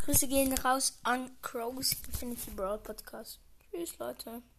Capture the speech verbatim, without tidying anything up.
Grüße gehen raus an Crows Infinity Brawl Podcast. Tschüss, Leute.